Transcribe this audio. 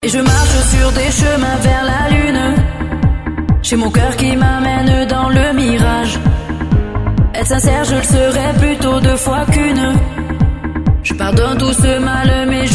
je marche sur des chemins vers la lune. J'ai mon cœur qui m'amène dans le mirage. Être sincère, je le serais plutôt 2 fois qu'une. Je pardonne tout ce mal, mais